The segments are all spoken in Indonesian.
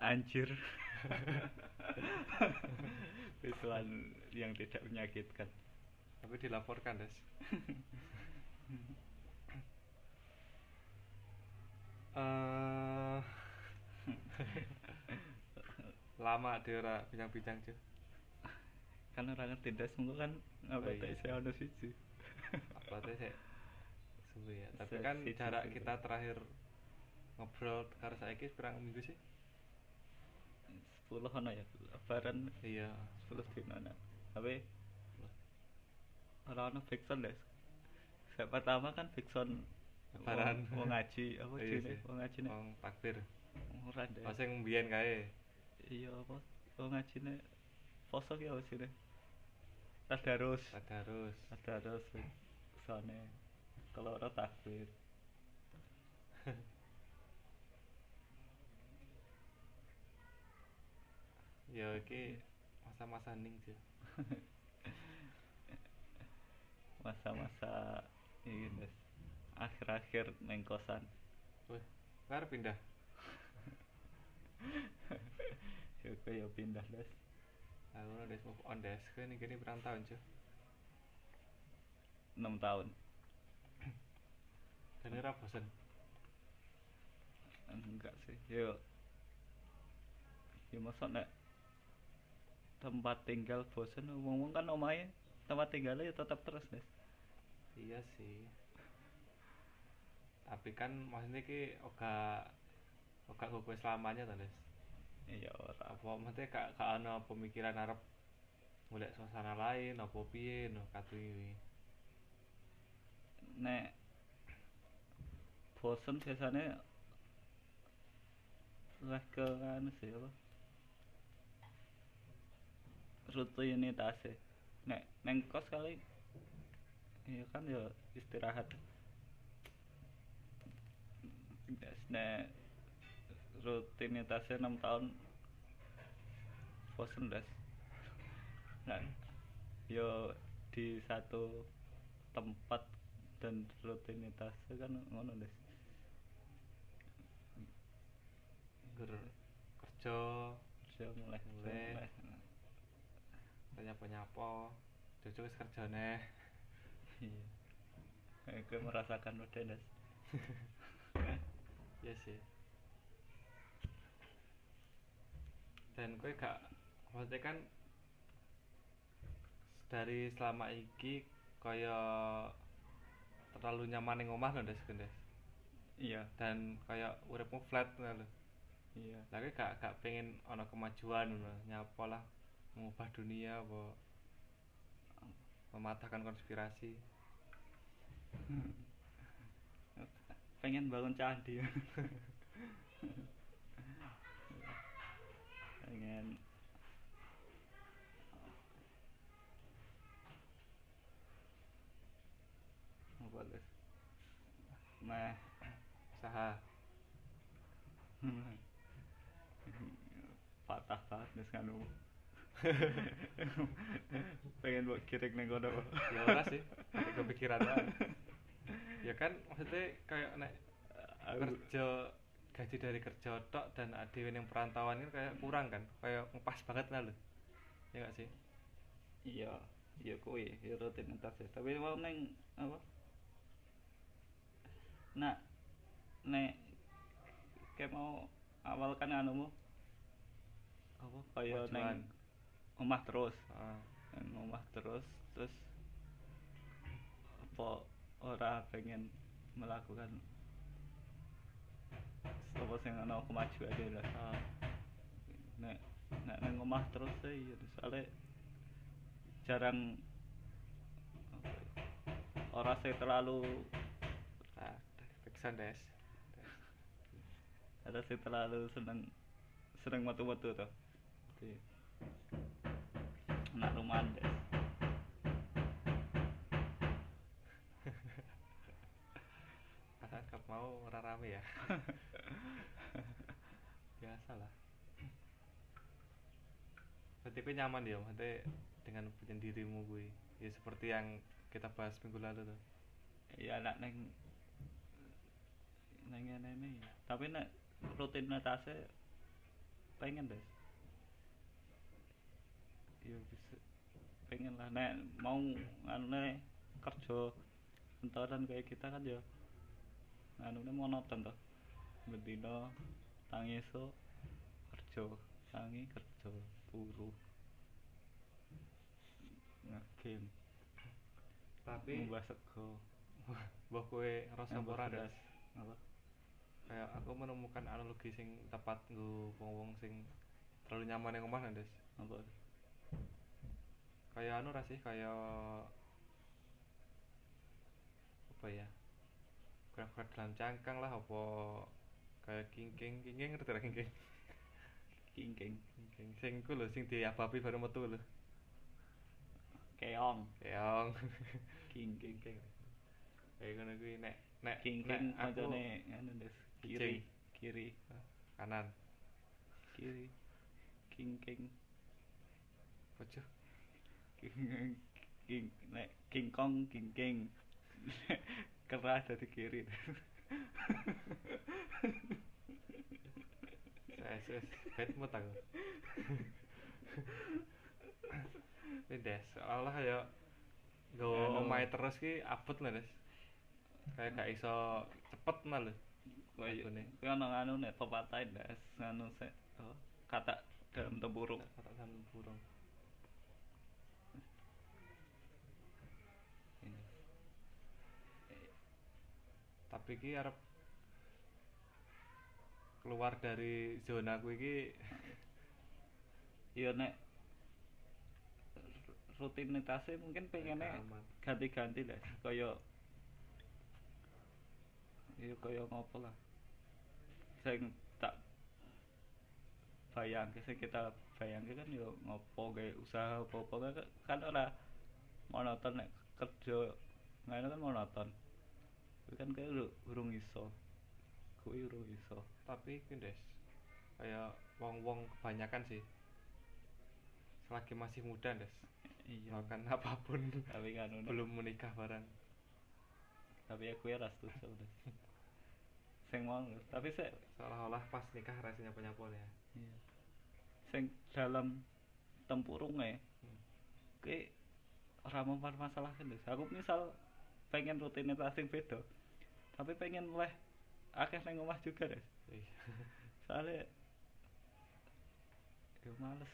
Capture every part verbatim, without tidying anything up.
Anjir. Visual yang tidak menyakitkan. Tapi dilaporkan, Des. Eh lama dia ora bincang-bincang cuy. Kan orang ngerti das mengko kan apa Oh, iya. tak saya ono siji. Apa tuh sih? Suwe ya. Tapi Se- kan siji, jarak siji. kita terakhir ngobrol karo saiki pirang minggu sih? sepuluh ono ya lebaran Iya. sepuluh dino ana. Tapi ora ono fiction das. Saya pertama kan fiction Lebaran. wong ngaji apa Iya jenenge sih. wong ngaji nek Wong takbir. ora deh. Oh sing mbiyen kae. Iya apa wong ngajine poso ki apa sih tadarus Tadarus. tadarus sone kalau ora takbir. Ya iki masa-masa ning sih. Masa-masa ini das akhir-akhir neng kosan. Wih, ngarep pindah. Ya kayak pindah das Aku udah des move on des. Kowe ning kene pirang tahun cuy? enam tahun. Dan ora bosen. Enggak sih yo ya masa nek tempat tinggal bosen ngomong kan omahe tempat tinggalnya ya tetap terus das. Iya sih. Tapi kan maksudnya ki oga oga kok selamanya to, Des. Iya ora Apa maksudnya gak gak ana pemikiran arep golek suasana lain apa piye no katu iki. nek bosen biasanya lah ke anu sih apa rutinitas sih nek neng kos kali iya kan ya istirahat. Gas nek rutinitasnya enam tahun bosen das nah yo di satu tempat dan rutinitasnya kan ngono das. Ger kerja Kerja mulai Mulai. mulai nyapa-nyapa. Jojo wis kerjane. iya aku merasakan udah das. Iya sih. Dan kowe gak maksudnya kan dari selama iki kaya terlalu nyaman ning omah lho Des Gendes. Iya Dan kaya uripmu flat ngono lho. iya Lah kowe gak gak pengen ana kemajuan ngono, nyapa lah mengubah dunia apa mematahkan konspirasi. pengen bangun candi. Pengen apa das nah Saha? patah banget nih kan pengen buat kirik neng kono. Ya ora sih, tapi kepikiran wae. Ya kan maksudnya kayak nek kerja gaji dari kerja tok dan dhewe ning perantauan kan kayak kurang kan, kayak ngepas banget lah lho. Ya gak sih? Iya iya kuwi ya rutinitas ya tapi mau neng apa nak nek kayak mau awal kan anumu apa kaya Kemajuan. neng omah terus Heeh. neng omah terus terus apa ora pengen melakukan apa sing ana kemajuan lah. Heeh. Nek nek neng omah terus sih ya soalnya jarang apa ya, ora sih terlalu Nah, backsound Des. ada sih terlalu seneng seneng metu-metu tuh di anak rumahan deh. Asal kap mau ora rame ya. Biasa lah. Berarti kowe nyaman ya maksudnya dengan penyendirimu kuwi. Ya seperti yang kita bahas minggu lalu tuh. Ya anak neng neng neng ini tapi nek rutinitasnya pengen deh ya bisa pengen lah nek mau anu nek kerja kantoran kayak kita kan ya anu monoton toh bendino tangi esuk kerja tangi kerja turu ngegame Tapi mbah sego mbah kowe ngerasa mbah ora beras Des? apa Kayak aku menemukan analogi sing tepat nggo wong-wong sing terlalu nyaman yang omah Des. apa Kayak anu ra sih, kayak apa ya? Gerak-gerak dalam cangkang lah apa kayak kingking, kingking ngerti ra kingking? kingking Kingking sing ku lho sing diabapi baru metu lho. keong Keong. kingking Kingking. Kayak ngono kuwi nek nek kingking nek aku kancane anu des kiri kiri kanan. kiri kingking Ojo. king king nek king kong kingking keras dari kiri Wes wes bet mut aku. Pindah, seolah ya nggawa Anu. omahe terus ki abot lho, Des. Kayak gak iso cepet nah lho. Kayak Lagune. kuwi ana anu nek pepatah das anu sik apa, kata dalam tempurung Kata sampe burung. Tapi ki arep keluar dari zona ku iki ya nek rutinitasnya mungkin pengennya gak aman. ganti-ganti lah kaya ya kaya ngopo lah sing tak bayangke sing kita bayangke kan ya ngopo kayak usaha apa-apa kan, kan ora monoton nek kerja ngene kan monoton kuwi kan kayak lu urung iso kuwi urung iso Tapi ki Des, kayak wong-wong kebanyakan sih selagi masih muda Des, iya melakukan apapun tapi kan nek- belum menikah barang. tapi aku ya ras setuju Des. Sing mau tapi sik Seolah-olah pas nikah rasanya penyapol ya. iya. Sing dalam tempurunge Hmm. kuwi ora mempermasalahkan Des. Aku misal pengen rutinitas sing beda tapi pengen leh akeh nang omah juga Des. Iya. Soalnya ya males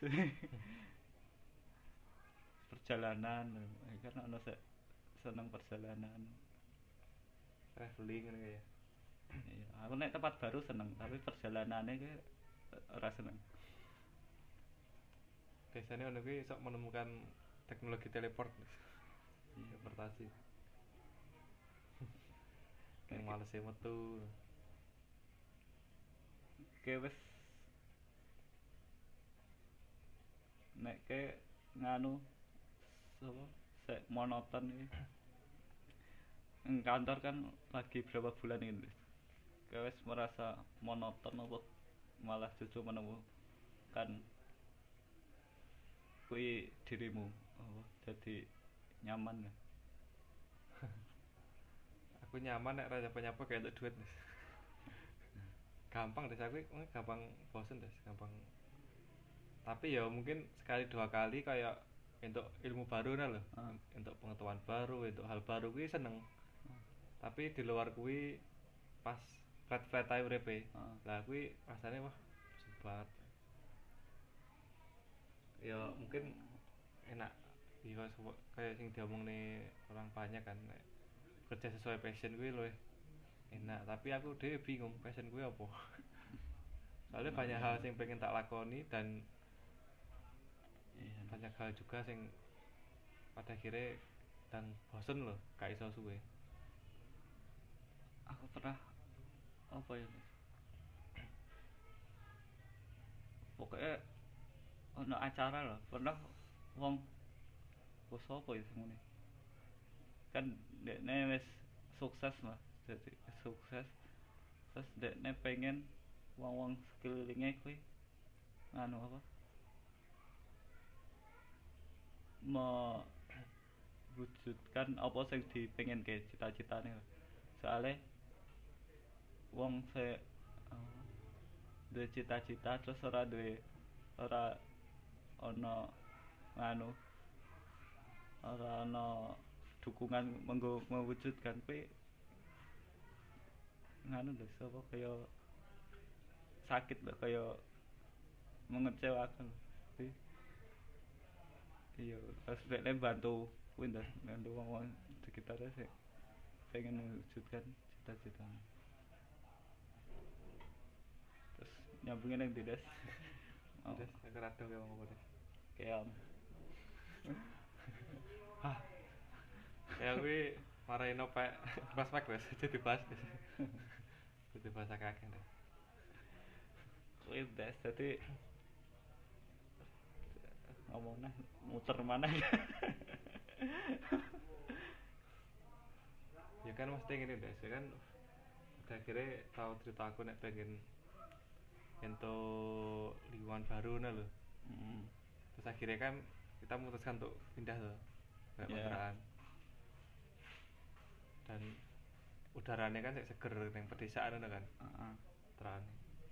perjalanan kan ana sik seneng perjalanan Traveling kan kayak. iya aku nek tempat baru seneng tapi perjalanannya ke ora seneng Biasanya ono kuwi sok menemukan teknologi teleport. iya Teleportasi. Kayak Kayak- males metu. ke wis nek ke nganu sapa sik monoton iki ing kantor kan lagi berapa bulan ini ke wis merasa monoton apa malah justru menemukan kuwi dirimu apa jadi nyaman ya Aku nyaman nek ra nyapa-nyapa kayak untuk duit. Des. Gampang Des aku eh, gampang bosen Des, gampang. Tapi ya mungkin sekali dua kali kayak untuk ilmu baru nah lho, Ah. untuk pengetahuan baru, untuk hal baru kuwi seneng. Tapi di luar kuwi pas flat-flat ae uripe. Ah. Lah kuwi rasane wah bosen banget. Ya mungkin enak iya sepo- kayak sing diomong nih orang banyak kan nek kerja sesuai passion gue loh enak tapi aku dhewe bingung passion gue apa soalnya banyak hal sing pengen tak lakoni dan iya banyak hal juga sing pada akhirnya dan bosen loh gak iso suwe. aku pernah apa ya Mas? Pokoknya ono acara lah pernah wong wis apa ya sing ngene kan dekne wis sukses lah jadi sukses terus dekne pengen wong-wong sekelilingnya kuwi anu apa mewujudkan apa sing dipengen ke cita-citane soalnya wong se duwe cita-cita terus ora duwe ora ana nganu ora ana dukungan menggo mewujudkan kuwi nganu lho sapa kaya sakit lho kaya mengecewakan Jadi, iya terus nek bantu kuwi ndas bantu wong-wong sekitarnya sih pengen mewujudkan cita-citanya terus nyambungin yang tidak oh. Des nek rada kaya ngomong apa Des kayak hah kayak kuwi marahin opek prospek Des jadi bahas Des jadi bahasa kakek Des kuwi des dadi ngomongnya muter mana ya kan mesti ngene Des ya kan udah akhirnya tahu cerita aku nek pengen untuk lingkungan baru nah lho hmm. terus akhirnya kan kita memutuskan untuk pindah loh kayak Yeah. kontrakan dan udaranya kan kayak seger yang pedesaan itu kan Uh-uh. terang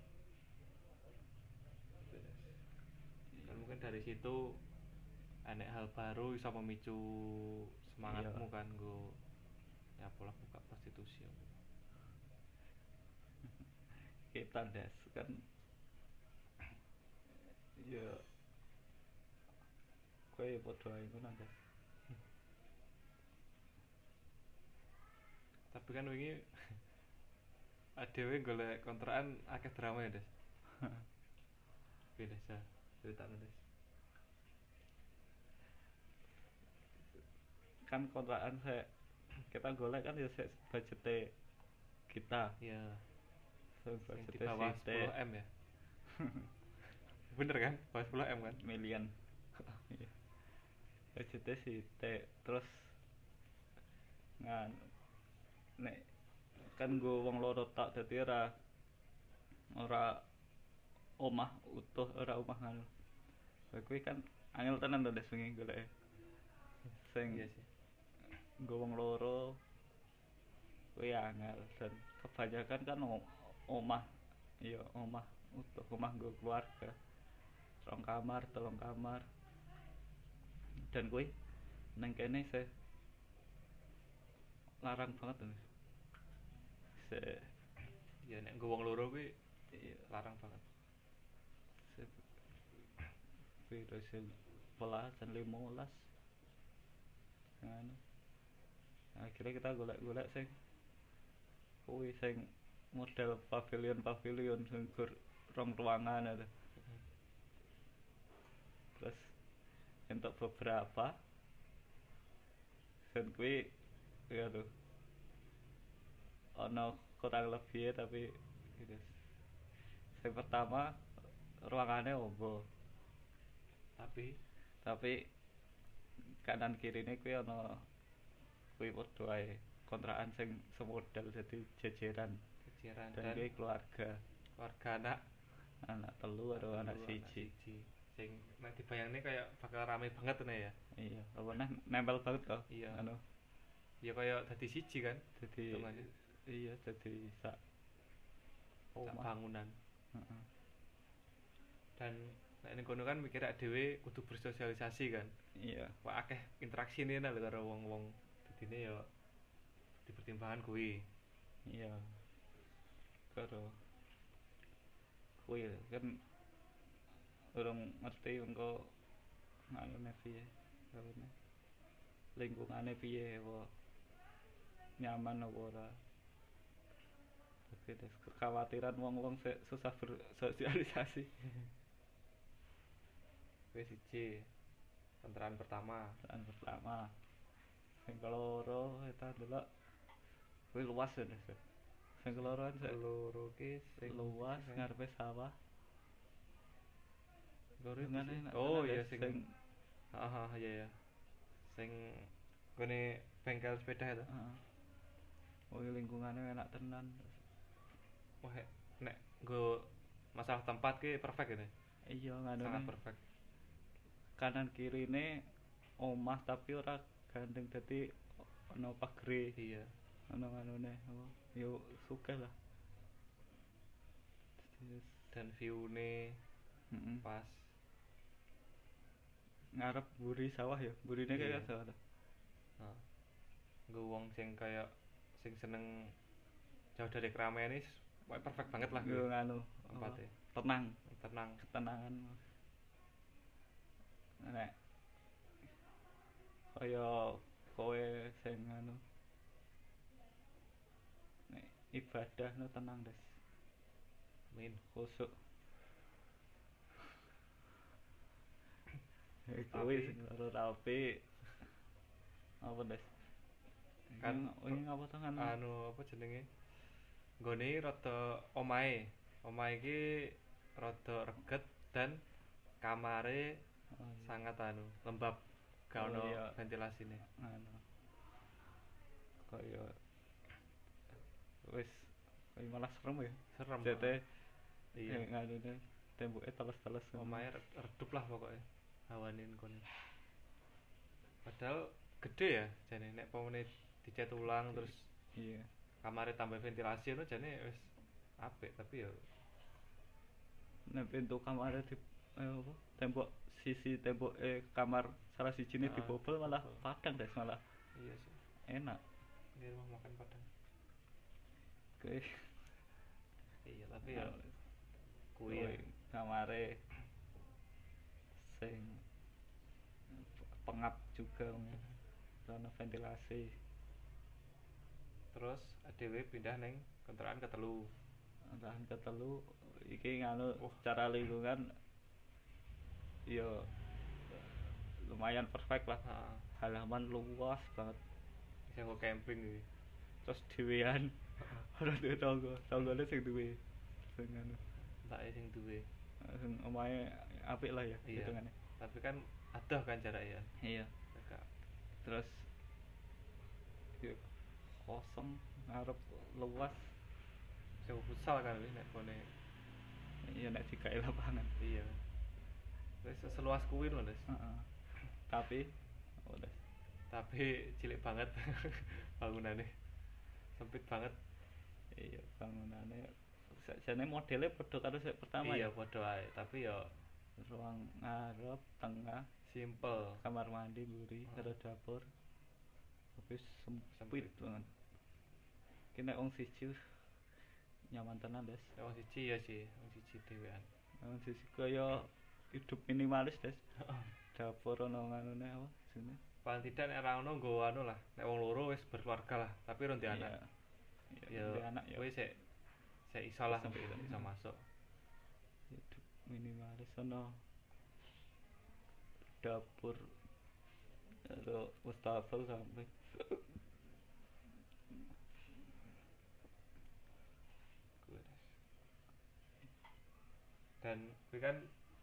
kan mungkin dari situ ada hal baru bisa memicu semangatmu Iya. kan gue ya pola buka prostitusi Kita des kan ya kowe padha ae ngono des tapi kan wingi adewe golek kontrakan akeh drama ya Des beda sih cerita Des kan kontrakan saya kita golek kan ya sik budgete kita ya so, yang di budgete bawah sithik. sepuluh M ya bener kan bawah sepuluh M kan Million iya budgete sithik terus ngan nek kan go wong loro tak dadi ora ora omah utuh ora omah ngono lha kuwi kan angel tenan to des wingi goleke sing iya sih nggo wong loro kuwi angel dan kebanyakan kan o- omah iya omah utuh omah nggo keluarga rong kamar telung kamar dan kuwi nang kene se larang banget tuh se ya nek gue wong loro kuwi iya larang banget se piro se sebelas dan limolas ngono akhirnya kita golek-golek sing kuwi sing model pavilion-pavilion sing gur rong ruangan ada terus untuk beberapa dan kuwi ya tuh ono kurang lebih tapi gitu yang pertama ruangannya ombo tapi tapi kanan kiri ini kuwi ono kuwi padha ae kontrakan sing semodel jadi jejeran keciran dan dan kuwi keluarga keluarga anak anak telu karo anak telu, siji sing nek dibayangne kayak bakal rame banget nih ya iya apa neh nempel banget kok iya anu ya kayak dadi siji kan jadi Hitung aja. iya jadi sak sak omah bangunan heeh dan nek ning kono kan mikir dhewe kudu bersosialisasi kan iya wah akeh interaksi nih lho karo wong-wong dadine ya dipertimbangkan kuwi iya karo kuwi kan urung ngerti engko nganune piye karone lingkungane piye apa nyaman apa ora tapi des kekhawatiran wong-wong sik susah bersosialisasi kuwi siji kontrakan pertama dan pertama sing keloro eta delok kuwi luas ya des sing keloro kan sik loro ki sing luas ngarepe sawah loro Ngene, nek oh tenan, iya Des, sing sing heeh iya ya sing gone bengkel sepeda itu heeh oh lingkungannya enak tenan wah nek nggo masalah tempat ki perfect ini iya nganu sangat perfect kanan kiri ini omah tapi ora gandeng dadi ono pagere iya ono nganune apa yo sugih lah wis dan view-ne heeh pas. ngarep mburi sawah ya mburine Iya. kayak sawah ta. Heeh. Nggo wong sing kaya sing seneng jauh dari keramaian ini wah, perfect banget lah Yo gitu nganu tempatnya. apa, tenang Tenang. ketenangan nek kaya kowe sing anu nek ibadah no tenang des Min. khusuk Tapi- kowe sing ora rapi apa des Kan ini ngapa to kan Anu apa jenenge? Nggone rada omahe. Omahe iki rada reget dan kamare oh, sangat anu lembab, gak Oh, ono iya. ventilasine. anu kaya wis kaya malah serem ya Serem. jete Iya. nganune temboke teles-teles Omahe red- redup lah pokoknya hawane kono. Padahal gede ya jane nek pomene dicat ulang terus iya kamare tambah ventilasi itu jane wis apik tapi ya nek pintu kamar di eh, apa tembok sisi tembok eh kamar salah sijine Ah, dibobol malah dibobol. padang des malah iya sih. enak Di rumah makan padang. kowe Iya tapi ya kuwi ya. kowe kamare sing pengap juga karena ventilasi Terus adewe pindah neng kontrakan ketelu. lahan ketelu iki nganu Wah. cara lingkungan ya lumayan perfect lah Heeh. halaman luas banget Sing kok camping iki. terus dhewean ora duwe tangga tanggane sing duwe sing anu Entake sing duwe. sing omahe apik lah ya Iya. hitungane Tapi kan adoh kan jaraknya. iya Agak terus ya kosong ngarep luas sing futsal kan wis nek kone. iya nek digawe lapangan Iya. Wis seluas kuwi lho, Des. heeh tapi udah Tapi cilik banget bangunannya. Sempit banget. iya bangunannya sakjane modelnya padha karo sing pertama Iya, ya padha ae, tapi ya ruang ngarep tengah simple. kamar mandi mburi Hmm. karo dapur tapi sempit Sempit. banget kene wong siji nyaman tenan des Ya wong siji ya sih, wong siji dhewean. wong siji kaya hidup minimalis des dapur ono nganune apa sini Paling tidak nek ora ono nggo anu lah, nek wong loro wis berkeluarga lah, tapi ron di anak. ya Ya anak ya kowe sik sik iso lah Sampai iso, itu. iso masuk. hidup minimalis ono dapur karo wastafel sampai Kuwi, Des. Dan kuwi kan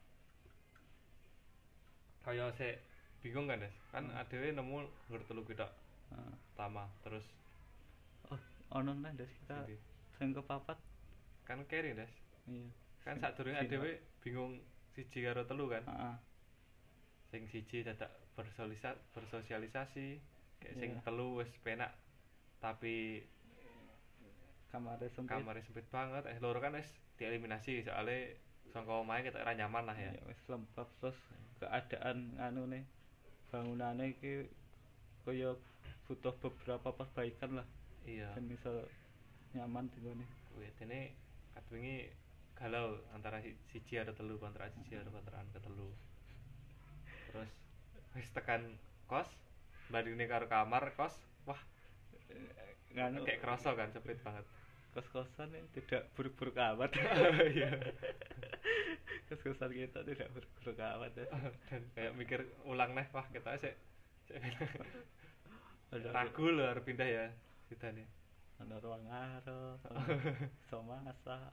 kaya sik bingung kan, Des. Kan Hmm. adewe nemu nggur telu kuwi tok Heeh. pertama, terus oh ono nang des kita sindi. sing kepapat Kan keri, Des. iya Kan Sing- sadurunge sing- adewe bingung siji karo telu kan. heeh Sing siji dadak bersolisa, bersosialisasi, kayak sing Iya. telu wis penak tapi kamare sempit kamarnya sempit banget. Eh loro kan wis dieliminasi soalnya sangka omahe kita ora nyaman lah ya. ya wis lembab terus keadaan anu nih bangunannya iki kaya butuh beberapa perbaikan lah Iya. ben iso nyaman di gone Kuwi dene kadwingi galau antara si- siji karo telu kontra siji karo kontrakan ketelu. Terus wis tekan kos, bandingne karo kamar kos, wah nganu kayak kerasa kan sempit banget. kos-kosan ini tidak buruk-buruk amat Iya. kos-kosan kita tidak buruk-buruk amat ya Dan kayak mikir ulang nih, wah kita sik sik ada ragu lho arep pindah ya kita nih. ada ruang ngarep iso masak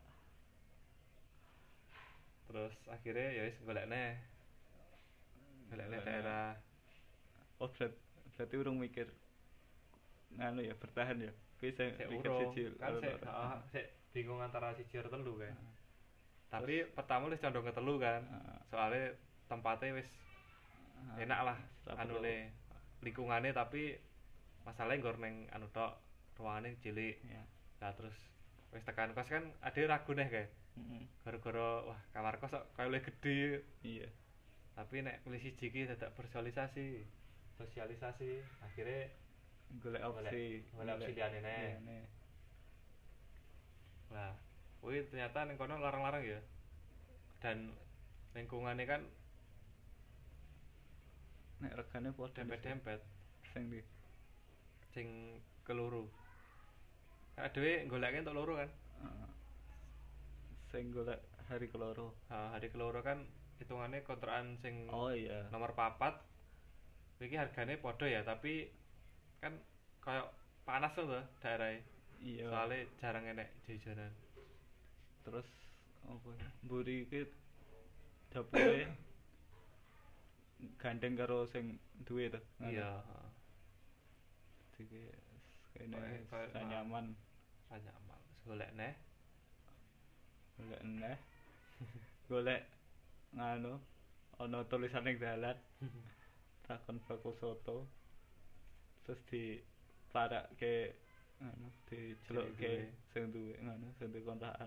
Terus akhirnya ya wis golekne golekne daerah oh berat, berarti urung mikir nganu ya bertahan ya kuwi sing sik mikir urung siji kan loro, sik loro. heeh, sik bingung antara siji karo telu kae. Heeh. Tapi pertama wis condong ke telu kan. Heeh. Soalnya tempatnya wis Heeh. enak lah Setelah anune lingkungannya tapi masalahnya nggur neng anu tok ruangannya cilik. ya Nah terus wis tekan kos kan ada ragu nih kayak Heeh. Gara-gara wah kamar kos kok kaya luwih gedhe. Iya. Tapi nek milih siji iki dadak bersosialisasi. Sosialisasi akhirnya Golek opsi, golek opsi liyane neh. liyane. Nah, kuwi ternyata ning kono larang-larang ya. Dan lingkungannya kan Nek regane padha dempet-dempet sing ndi? sing keloro. Kan dhewe goleke entuk loro kan. Heeh. Sing golek hari keloro. Ha, hari keloro kan hitungannya kontrakan sing Oh iya. nomor papat. Iki hargane padha ya, tapi kan kayak panas tuh daerahnya. Iya. Soalnya jarang enek jajanan. Terus apa ya? Mburi iki dapure gandeng karo sing duwe to. Iya, Jadi kene Kayak- kayak- sak nyaman ra nyaman. Terus golek neh. golek neh. Golek nganu ana tulisan ning dalan takon bakul soto. Terus di parake anu dicelukke sing duwe ngono sing duwe kontrakan.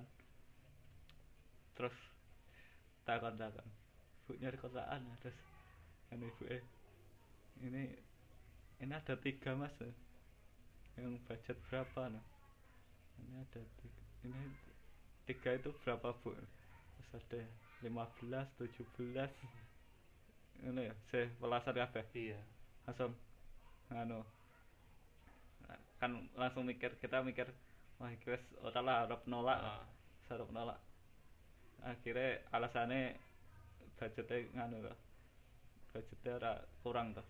Terus takon-takon. Bu nyari kontrakan ya, terus kan ibu eh ini ini ada tiga mas ya. Yang budget berapa nah? Ini ada tiga, ini tiga itu berapa bu? Terus ada lima belas, tujuh belas ini ya, saya pelasan kabeh. Iya. Langsung anu kan langsung mikir kita mikir wah iki wis ora lah arep nolak Heeh. arep nolak akhirnya alasannya budgetnya nganu to budgetnya ora kurang to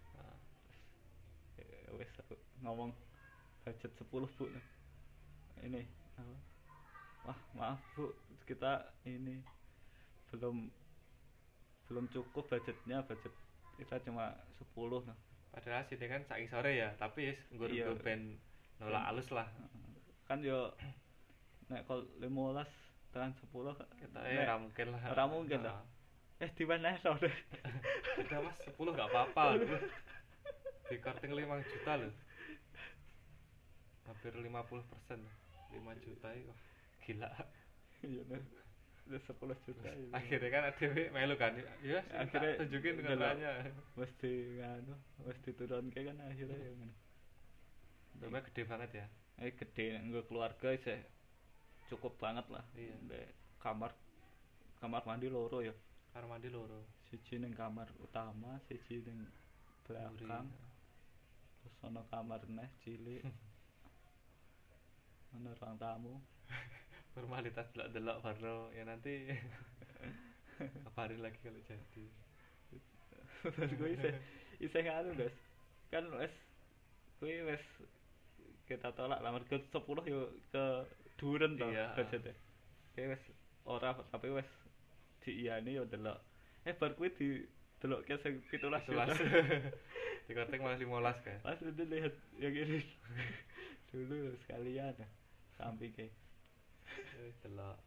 Ya wis aku ngomong budget sepuluh bu ini apa? Wah maaf bu kita ini belum belum cukup budgetnya budget kita cuma sepuluh nah. Padahal sini kan saiki sore ya, tapi wis nggur Iya. nggur ben nolak alus lah. Kan yo nek kol lima belas tekan sepuluh Kita eh ora mungkin lah. ora mungkin Heeh. lah. Eh di mana deh? Udah mas sepuluh gak apa-apa. Di korting lima juta loh. Hampir lima puluh persen. lima juta itu wah, gila. Iya nih. Udah sepuluh juta. Iya. Akhirnya kan ada melu kan. Ya, Akhirnya akhirnya tunjukin delok. kontrakannya. Mesti nganu, mesti turun kayak kan akhirnya ya ngono. Rumahnya gede banget ya. Eh gede nggo keluarga sih cukup banget lah. Iya. Mbek kamar kamar mandi loro ya. Kamar mandi loro. Siji ning kamar utama, siji ning belakang. Terus ana kamar neh cilik. Ana ruang tamu. Formalitas delok-delok baru ya nanti kabarin lagi kalau jadi. Terus gue isih isih nganu guys. Kan wis kuwi wis kita tolak lah mergo sepuluh yo ke duren to Iya. budgetnya. Kayak wis ora tapi wis diiyani yo delok. Eh bar kuwi di delokke sing pitulas Sebelas. juta. Di korting malah lima belas kan. Pas udah lihat yang ini dulu sekalian sampingnya. Wis delok.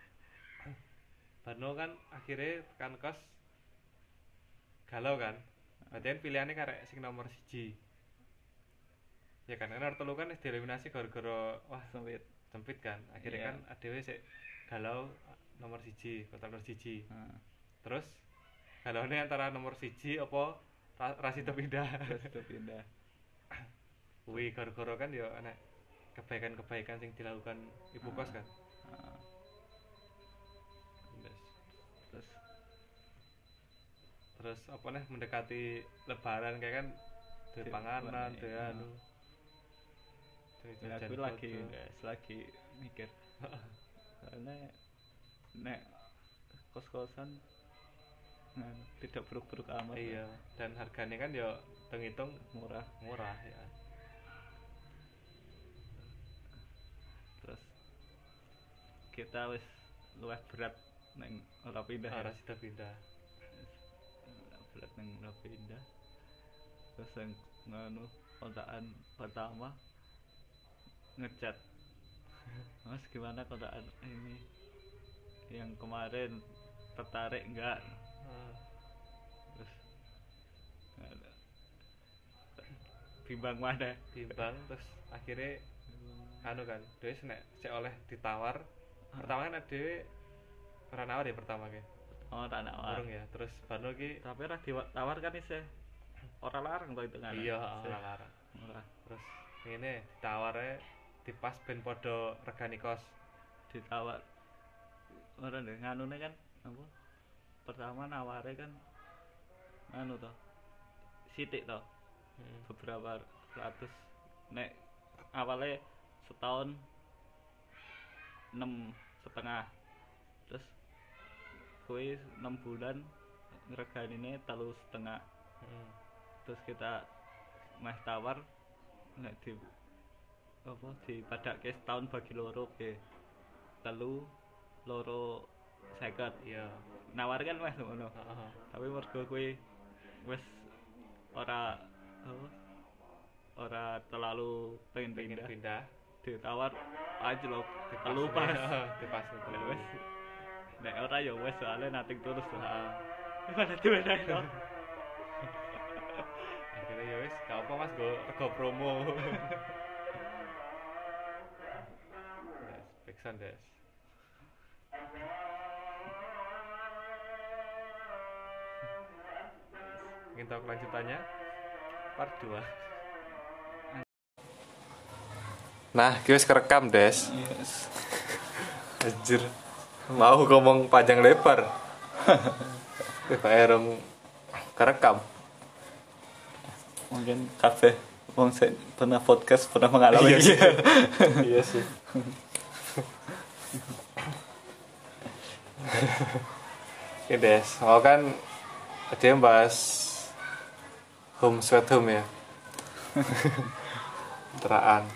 Barno kan akhirnya tekan kos galau kan. Berarti kan pilihannya karek sing nomor siji. Ya kan, karena telu kan wis dieliminasi gara-gara wah Sempit. sempit kan. Akhirnya Iya. kan adewe sik galau nomor siji, kotak nomor siji. Nah, Terus galaune antara nomor siji apa ra, rasido pindah. terus itu pindah. Kuwi gara-gara kan ya ana kebaikan-kebaikan sing dilakukan ibu kos kan. Nah, Terus terus terus apa nih mendekati lebaran kayak kan duwe Duwe panganan, panganan, duwe iya. anu. Duwe ya jajan aku lagi foto. guys lagi mikir karena nek kos-kosan nah, tidak buruk-buruk amat Iya, dan harganya kan ya hitung-hitung murah murah ya. terus kita wis luwih berat neng ora pindah ya. Ora sida pindah. Berat neng ora pindah terus yang nganu kontaan pertama ngecat mas gimana kontaan ini yang kemarin tertarik enggak Ah, terus nggak- bimbang mana timbang terus akhirnya anu kan, dhewe senek cek oleh ditawar. Pertama kan dhewe ora nawar ya pertama ki. Oh tak nawar. Urung ya. Terus baru ki Tapi ora ditawar kan isih ora larang to itu kan. iya ora larang. Ora Terus ngene ditaware dipas ben padha regani kos. ditawar. Ora ndek nganune kan apa? Pertama naware kan anu to. Sithik to. Hmm. Beberapa ratus nek awalnya setahun enam setengah terus kue enam bulan ngereganine telu setengah Hmm. terus kita meh tawar nek di apa di padake setahun bagi loro ke telu loro seket Iya. nawar kan meh ngono Heeh. tapi mergo kue wis ora apa ora terlalu pengen Pengen pindah pindah. ditawar aja lho telu pas Dipas Lah wis telu. nek ora ya wis soalnya nating tulus to Heeh. pada diwenehi to Akhirnya ya wis gak apa Mas go rego promo. Yes, Peksan Des. Ingin tahu kelanjutannya? Part dua. Nah, kita kerekam Des. yes Anjir. Mau ngomong panjang lebar. Wih, bayarong kerekam. mungkin kabeh wong sing pernah podcast pernah mengalami Iya sih. Iya sih. Oke Des, mau kan ada yang bahas home sweet home ya. Teraan.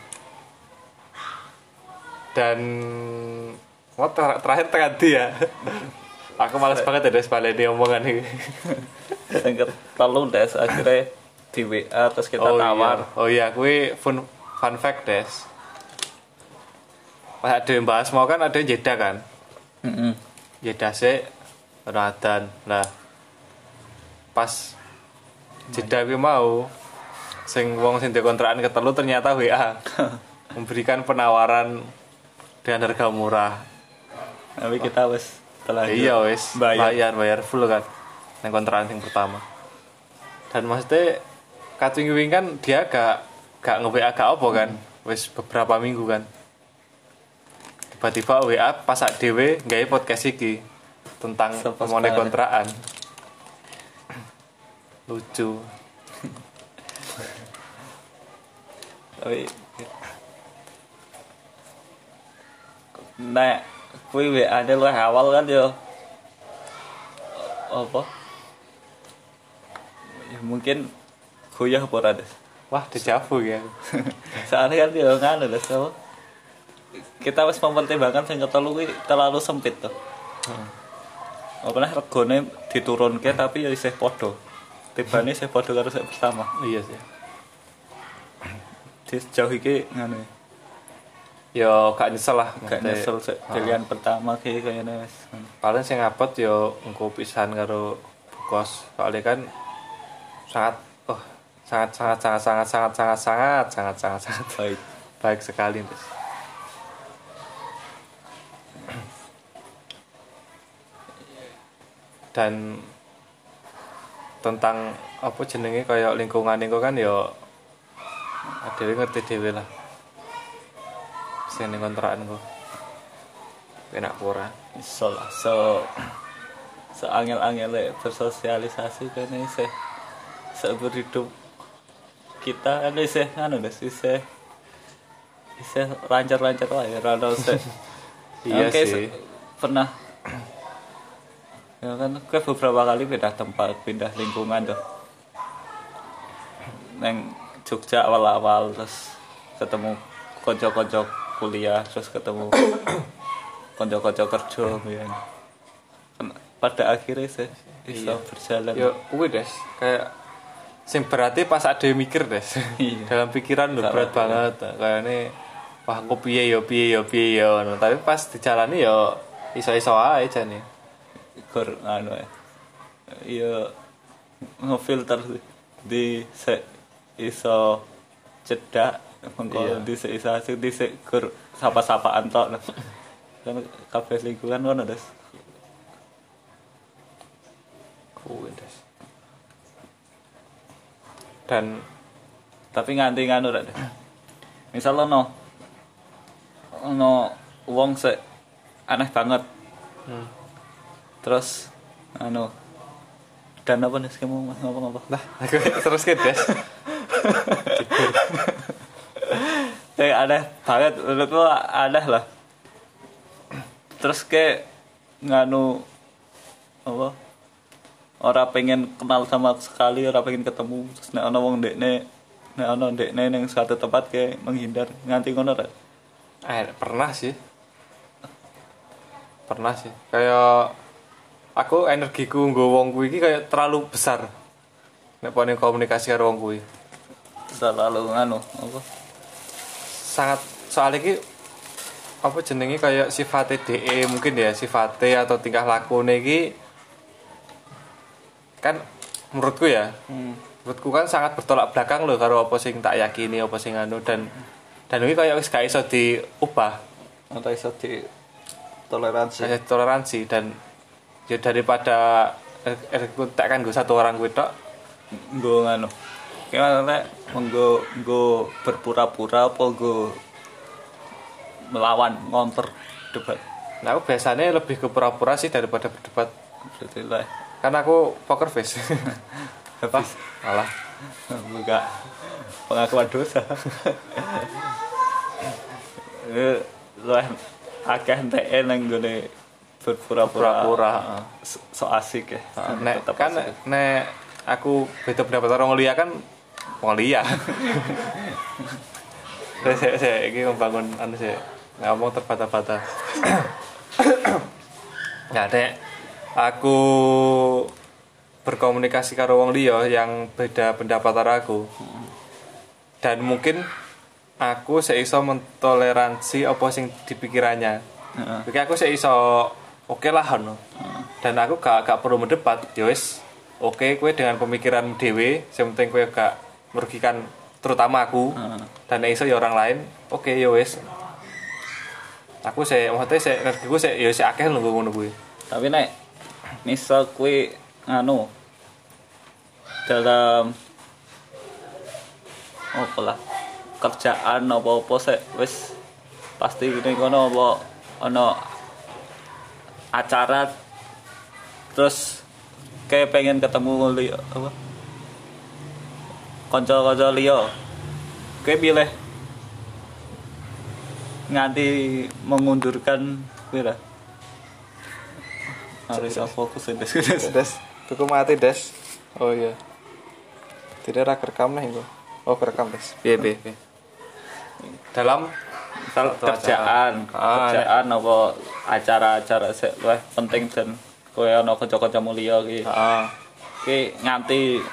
Dan mau ter- terakhir tadi ya. Aku malas banget ya Des baleni omongan ini. sing telu des akhirnya di W A terus kita oh, tawar Iya. Oh iya, kuwi fun fun fact Des. Pas ada yang bahas mau kan ada yang jeda kan. heeh Jeda sih Ramadan lah pas jeda kuwi mau sing wong sing dikontrakan ketelu ternyata W A memberikan penawaran dengan harga murah. tapi kita wis telah Iya wis bayar. bayar bayar full kan nang kontrakan sing pertama. Dan maksudnya kating wing kan dia gak gak nge-W A gak apa kan wis beberapa minggu kan. Tiba-tiba W A pas sak dhewe gawe podcast iki tentang Sepas pemone banget. kontrakan. Lucu. tapi nek kuwi W A ne luwih awal kan yo apa ya mungkin goyah apa ora des Wah, dejavu ya. soalnya kan yo nganu des apa kita wis mempertimbangkan sing ketelu kuwi terlalu sempit tuh apa nah regane diturunke tapi ya isih padha tibane isih padha karo sing pertama Iya sih. di sejauh iki nganu ya. Yo gak nyesel lah. Gak maksudnya. nyesel sih, pilihan pertama kayak kayaknya wis. Paling sing ngapot yo engko pisan karo bukos. Soalnya kan sangat oh sangat sangat sangat sangat sangat sangat sangat sangat sangat sangat Baik. baik sekali Des. Dan tentang apa jenenge kayak lingkungan itu kan yo dhewe ngerti dhewe lah. Sing ning kontrakan kok. Enak ora? Iso lah, so seangel-angel bersosialisasi kan isih seumur hidup kita kan isih anu des isih isih lancar-lancar wae ora ono sih. Iya Oke, sih. se- pernah ya kan gue beberapa kali pindah tempat pindah lingkungan tuh neng Jogja awal-awal terus ketemu konco-konco kuliah terus ketemu konco-konco kerja ya. Kan pada akhirnya sih bisa Iya. berjalan Yo kuwi Des, kayak sing berarti pas ada yang mikir Des. Iya. Dalam pikiran lho Gak berat apa-apa. banget. Kayaknya wah aku piye yo piye yo piye yo ngono. Tapi pas dijalani yo iso-iso ae jane. gor anu ya iya ngefilter sih. Di se iso cedak mengko Iya. di se iso asik di se gur sapa-sapaan tok nah. Kan kabeh lingkungan ngono des dan tapi nganti nganu rek. Misal ono ono wong sik aneh banget. hmm. Terus anu dan apa nih kamu ngapa-ngapa? Nah, aku terus ke Des. Kayak aneh banget, menurutku aneh lah. Terus kayak nganu apa? Orang pengen kenal sama sekali, orang pengen ketemu. Terus nek ana wong ndekne, nek ana ndekne ning suatu tempat kayak menghindar nganti ngono rek. Eh, pernah sih. Pernah sih. Kayak aku energiku nggo wong kuwi iki kayak terlalu besar. Nek pone komunikasi karo wong kuwi. Terlalu nganu apa? Sangat soal iki apa jenenge kayak sifat D E mungkin ya, sifat atau tingkah lakune iki kan menurutku ya. Hmm. Menurutku kan sangat bertolak belakang loh karo apa sing tak yakini, apa sing anu dan dan iki kayak wis gak iso diubah. Ora iso di toleransi. Kayak toleransi dan ya daripada aku tak kan gue satu orang gue tok gue nganu kayak nek menggo nggo berpura-pura apa gue melawan ngonter debat. Nah aku biasanya lebih ke pura-pura sih daripada berdebat. Berarti lah karena aku poker face. habis malah buka pengakuan dosa. Eh lah akeh entek nang gone berpura-pura so, so asik ya. Nek kan nek aku beda pendapat orang liya kan wong liya. Saya saya iki membangun anu sih ngomong terbata-bata. Ya nek aku berkomunikasi karo wong liya yang beda pendapat karo aku. Dan mungkin aku seiso mentoleransi apa sing dipikirannya. Heeh. Uh-huh. Aku seiso oke okay lah no. Hmm. Dan aku gak gak perlu mendebat, ya wis. Oke, okay, kowe dengan pemikiran dhewe, sing penting kowe gak merugikan terutama aku. Hmm. Dan iso ya orang lain. Oke, okay, ya wis. Aku sih maksudnya sih energiku sih ya sih akeh lho ngono kuwi. Tapi nek misal kowe anu dalam apa lah kerjaan apa-apa sih wis pasti ning kono apa ana acara terus kayak pengen ketemu li apa kanca-kanca liya kayak pilih nganti mengundurkan pira harus fokus des des des tuku mati des oh iya tidak ada rekam nih gua oh rekam des piye piye dalam misal kerjaan ah, kerjaan ya. Apa acara-acara sik wah penting dan kowe ana kanca-kanca mulia iki heeh iki nganti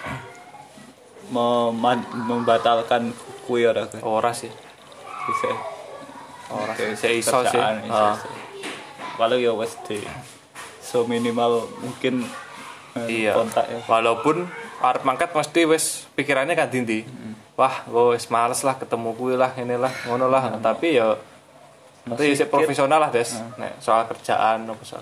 mem- membatalkan kuwi ora kowe ora sih bisa ora sih iso sih heeh walau ya wis di so minimal mungkin iya. Kontak ya walaupun arep mangkat mesti wis pikirannya kan dindi hmm. Wah, gue wis males lah ketemu kuwi lah, inilah, ngono lah. Hmm. Tapi ya nanti sik profesional lah, Des. Hmm. Nek soal kerjaan apa soal.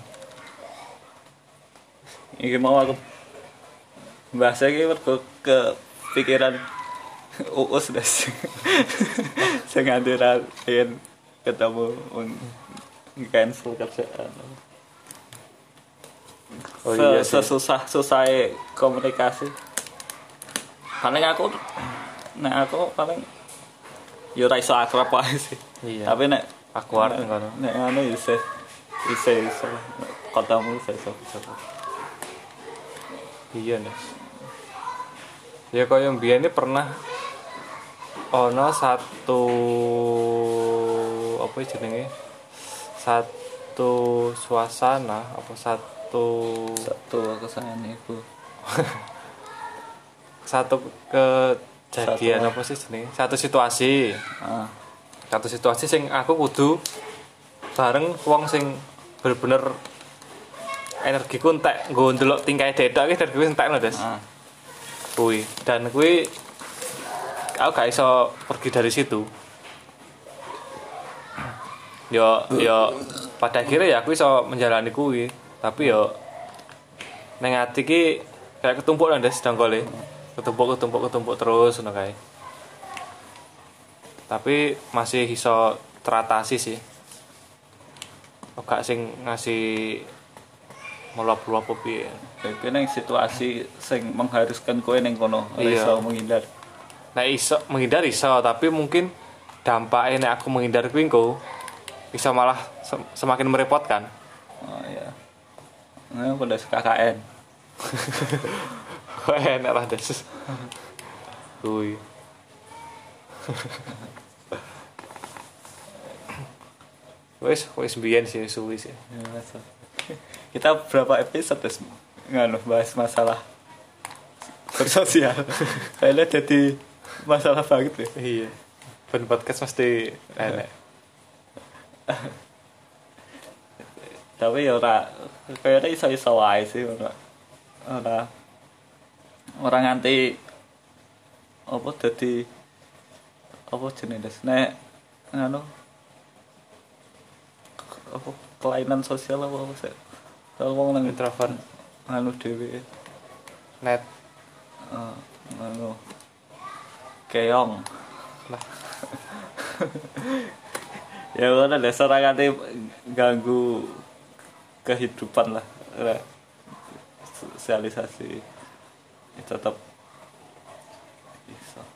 Iki mau aku bahas iki mergo ke pikiran uus Des. Sing antara yen ketemu cancel kerjaan. Oh iya, susah susah komunikasi. Paling aku nek aku paling yo ora iso akrab wae sih. Iya. Tapi nek aku arep ngono. Nek ngono iso iso iso ketemu iso iso. Iya, Nes. Ya kaya mbiyen ini pernah ono satu apa jenenge? Satu suasana apa satu satu kesane iku. Satu kejadian satu apa sih jenenge? Satu situasi. Heeh. Ah. Satu situasi sing aku kudu bareng wong sing bener-bener energiku entek nggo ndelok tingkahe dedok iki energiku entek lho, Des. Heeh. Ah. Kuwi. Dan kuwi aku gak iso pergi dari situ. Yo yo pada akhirnya ya aku iso menjalani kuwi, tapi yo nang ati iki kayak ketumpuk nang Des dangkole. ketumpuk ketumpuk ketumpuk terus ngono kae. Tapi masih iso teratasi sih. Gak sing ngasih meluap-luap piye. Kayak neng situasi sing mengharuskan kowe neng kono ora Iya. iso menghindar. Nah iso menghindar iso, tapi mungkin dampaknya nek aku menghindar kuwi engko iso malah sem- semakin merepotkan. Oh iya. Nah, pada K K N. Kok enak lah des. Kuwi. Wes, wes biyen sih suwi sih. Ya, masa. Kita berapa episode terus nganu bahas masalah bersosial. Kayaknya jadi masalah banget ya. Iya. Ben podcast mesti enak. Tapi ya ora kayaknya iso-iso wae sih ora. Ora ora nganti apa dadi apa jenenge nek nganu apa kelainan sosial apa apa sih kalau wong nang Introvert. nganu dhewe Net. eh, nganu keong Lah. ya ngono dasar ora nganti ganggu kehidupan lah ora sosialisasi ya, tetap bisa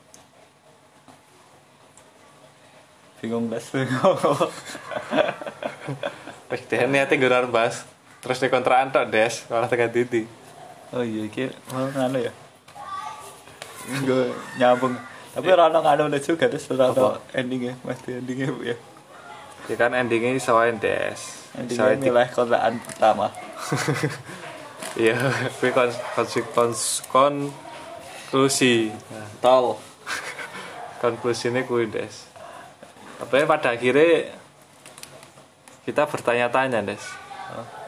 bingung das Wes deh niate nggorar bahas. Terus di kontrakan tok des, malah tekan titik. oh iya iki mau nganu ya gue nyambung tapi ora ono nganu juga terus ora ono endingnya mesti endingnya Bu ya Ya kan endingnya sawain des. endingnya milih kontrakan pertama Iya, kuwi kon konsi- kons- konklusi. Nah, tol konklusinya kuwi des. Tapi pada akhirnya kita bertanya-tanya des.